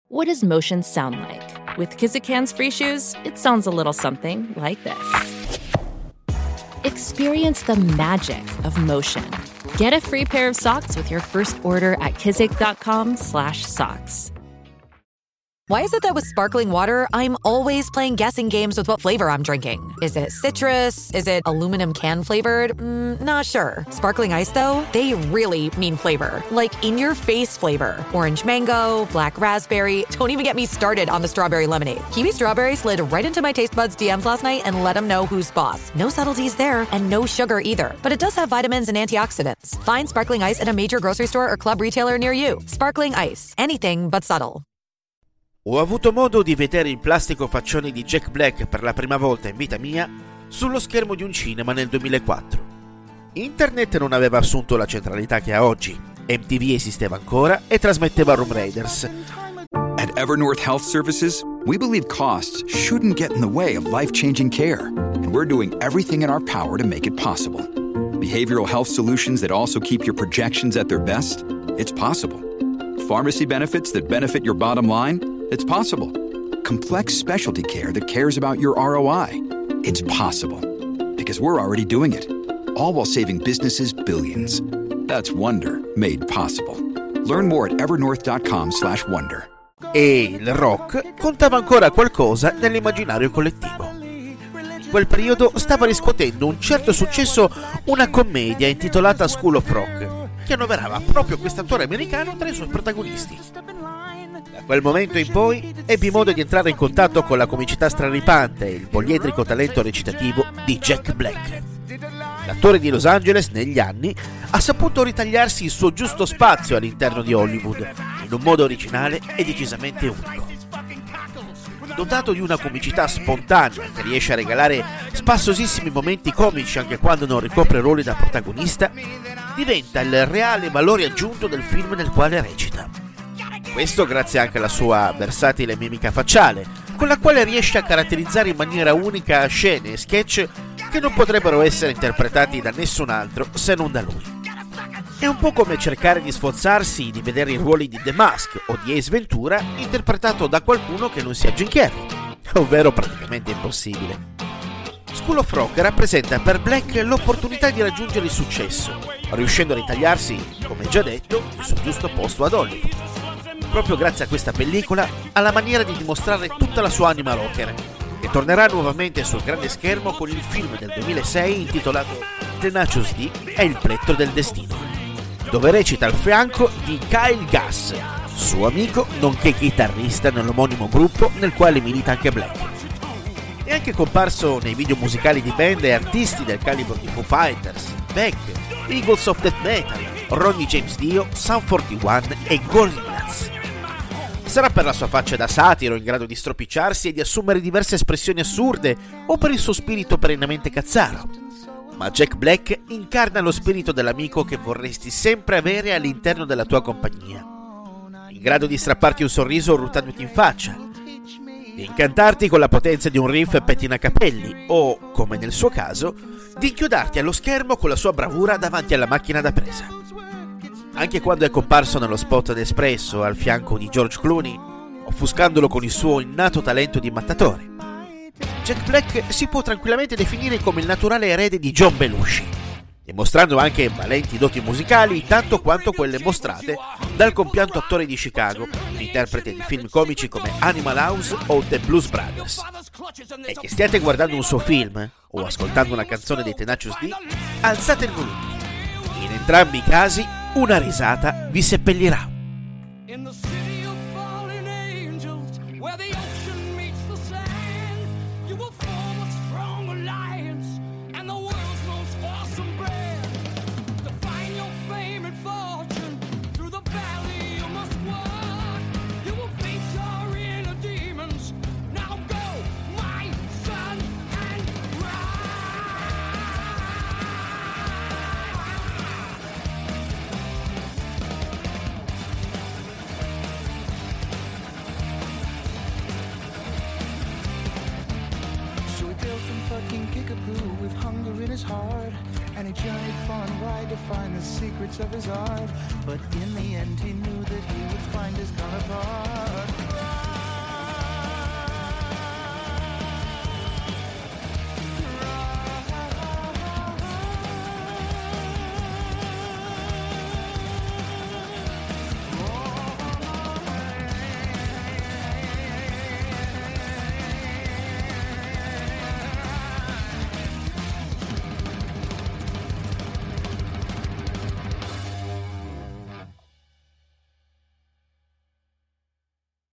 What does motion sound like? With Kizikans free shoes, it sounds a little something like this. Experience the magic of motion. Get a free pair of socks with your first order at kizik.com/socks. Why is it that with sparkling water, I'm always playing guessing games with what flavor I'm drinking? Is it citrus? Is it aluminum can flavored? Not sure. Sparkling Ice, though, they really mean flavor. Like in-your-face flavor. Orange mango, black raspberry. Don't even get me started on the strawberry lemonade. Kiwi Strawberry slid right into my taste buds DMs last night and let them know who's boss. No subtleties there, and no sugar either. But it does have vitamins and antioxidants. Find Sparkling Ice at a major grocery store or club retailer near you. Sparkling Ice. Anything but subtle. Ho avuto modo di vedere il plastico faccione di Jack Black per la prima volta in vita mia sullo schermo di un cinema nel 2004. Internet non aveva assunto la centralità che ha oggi, MTV esisteva ancora e trasmetteva Room Raiders. At Evernorth Health Services, we believe costs shouldn't get in the way of life-changing care, and we're doing everything in our power to make it possible. Behavioral health solutions that also keep your projections at their best? It's possible. Pharmacy benefits that benefit your bottom line? It's possible. Complex specialty care that cares about your ROI? It's possible. Because we're already doing it. All while saving businesses billions. That's Wonder made possible. Learn more at evernorth.com/wonder. E il rock contava ancora qualcosa nell'immaginario collettivo. In quel periodo stava riscuotendo un certo successo una commedia intitolata School of Rock, che annoverava proprio quest'attore americano tra i suoi protagonisti. Da quel momento in poi ebbi modo di entrare in contatto con la comicità straripante e il poliedrico talento recitativo di Jack Black. L'attore di Los Angeles, negli anni, ha saputo ritagliarsi il suo giusto spazio all'interno di Hollywood, in un modo originale e decisamente unico. Dotato di una comicità spontanea che riesce a regalare spassosissimi momenti comici anche quando non ricopre ruoli da protagonista, diventa il reale valore aggiunto del film nel quale recita. Questo grazie anche alla sua versatile mimica facciale, con la quale riesce a caratterizzare in maniera unica scene e sketch che non potrebbero essere interpretati da nessun altro se non da lui. È un po' come cercare di sforzarsi di vedere i ruoli di The Mask o di Ace Ventura interpretato da qualcuno che non sia Jim Carrey, ovvero praticamente impossibile. School of Rock rappresenta per Black l'opportunità di raggiungere il successo, riuscendo a ritagliarsi, come già detto, il suo giusto posto ad Hollywood. Proprio grazie a questa pellicola ha la maniera di dimostrare tutta la sua anima rocker, che tornerà nuovamente sul grande schermo con il film del 2006 intitolato Tenacious D e il plettro del destino, dove recita al fianco di Kyle Gass, suo amico nonché chitarrista nell'omonimo gruppo nel quale milita anche Black. È anche comparso nei video musicali di band e artisti del calibro di Foo Fighters, Beck, Eagles of Death Metal, Ronnie James Dio, Sum 41 e Gorillaz. Sarà per la sua faccia da satiro in grado di stropicciarsi e di assumere diverse espressioni assurde o per il suo spirito perennemente cazzaro. Ma Jack Black incarna lo spirito dell'amico che vorresti sempre avere all'interno della tua compagnia, in grado di strapparti un sorriso urtandoti in faccia, di incantarti con la potenza di un riff pettinacapelli o, come nel suo caso, di inchiodarti allo schermo con la sua bravura davanti alla macchina da presa. Anche quando è comparso nello spot d'Espresso al fianco di George Clooney, offuscandolo con il suo innato talento di mattatore, Jack Black si può tranquillamente definire come il naturale erede di John Belushi, dimostrando anche valenti doti musicali tanto quanto quelle mostrate dal compianto attore di Chicago, interprete di film comici come Animal House o The Blues Brothers. E che stiate guardando un suo film o ascoltando una canzone dei Tenacious D, alzate il volume. In entrambi i casi una risata vi seppellirà. fucking kickapoo with hunger in his heart, and he journeyed far and wide to find the secrets of his art. But in the end he knew that he would find his counterpart.